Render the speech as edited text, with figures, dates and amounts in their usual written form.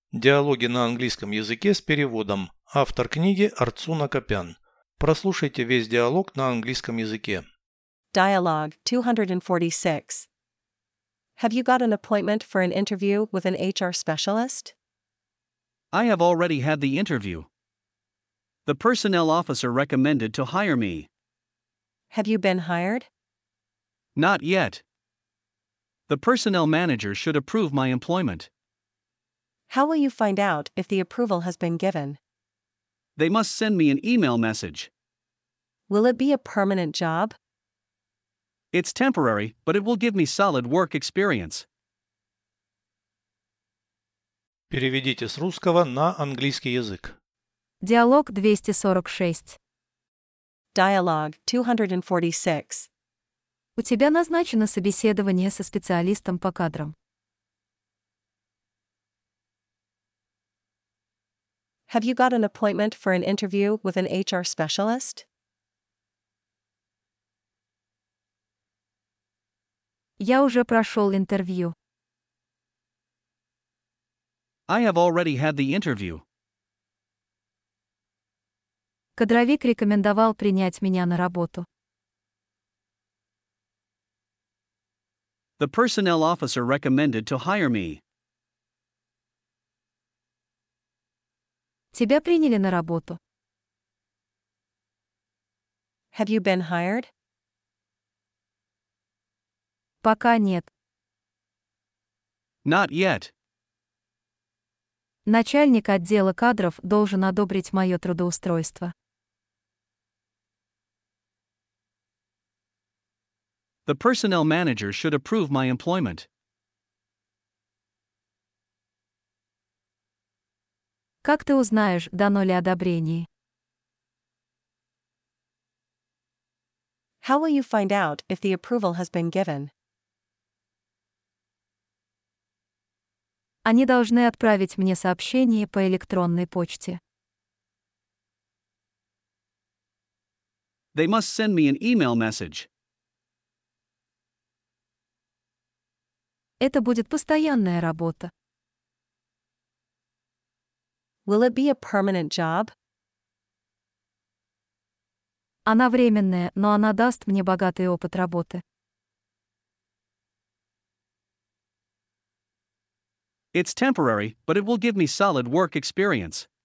Диалоги на английском языке с переводом. Автор книги Арцуна Копян. Прослушайте весь диалог на английском языке. Dialogue 246. Have you got an appointment for an interview with an HR specialist? I have already had the interview. The personnel officer recommended to hire me. Have you been hired? Not yet. The personnel manager should approve my employment. How will you find out if the approval has been given? They must send me an email message. Will it be a permanent job? It's temporary, but it will give me solid work experience. Переведите с русского на английский язык. Диалог 246. Dialogue 246. У тебя назначено собеседование со специалистом по кадрам. Have you got an appointment for an interview with an HR specialist? Я уже прошел интервью. I have already had the interview. Кадровик рекомендовал принять меня на работу. The personnel officer recommended to hire me. Тебя приняли на работу. Have you been hired? Пока нет. Not yet. Начальник отдела кадров должен одобрить мое трудоустройство. The personnel manager should approve my employment. Как ты узнаешь, дано ли одобрение? How will you find out if the approval has been given? Они должны отправить мне сообщение по электронной почте. They must send me an email message. Это будет постоянная работа. Will it be a permanent job? Она временная, но она даст мне богатый опыт работы. It's temporary, but it will give me solid work experience.